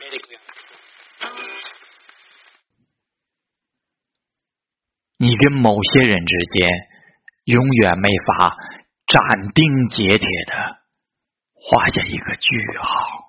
你跟某些人之间永远没法斩钉截铁地画下一个句号。